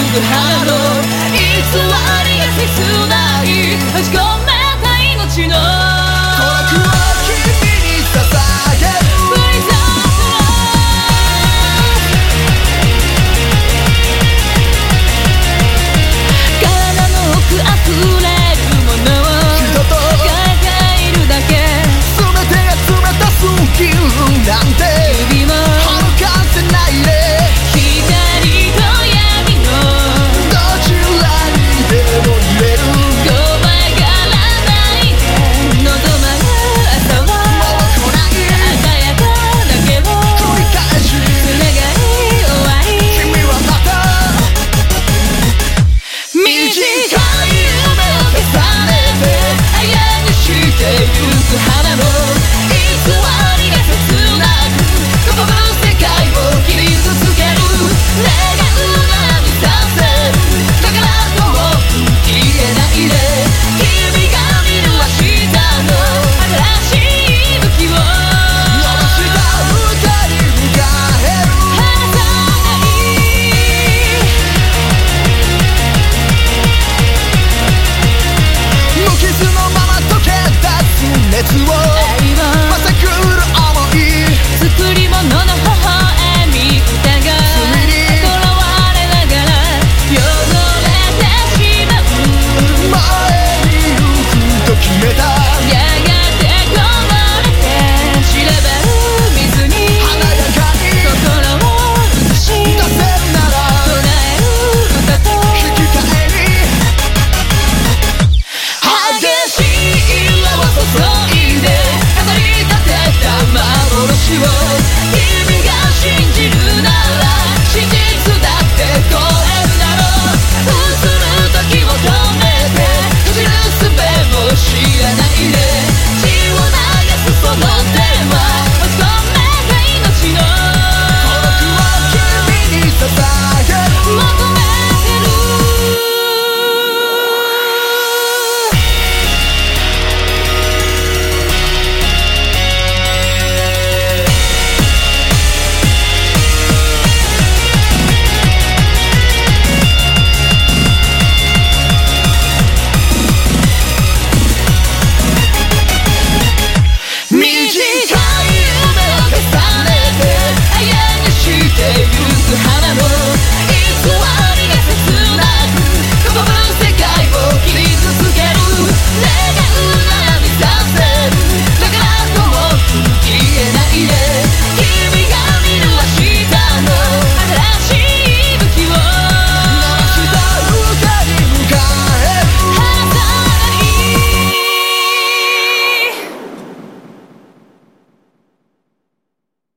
ぐ花の偽りが切ない閉じ込めた命の孤独を君に捧げる体の奥溢れるものを人と抱えているだけ全てが冷たすぎるなんて指もはるかせないで光と闇のどちらにでも入れるごまがらないで望まぬ朝はもう来ない鮮やかだけを繰り返し繋がり終わり君はまた短い夢を重ねて綾にしてゆく花の偽りが切なくここの世界を傷つける願うな満たせるだからもう消えないで君が見る明日の新しい武器を伸ばした二人迎える離さない無傷のまま溶け出す熱を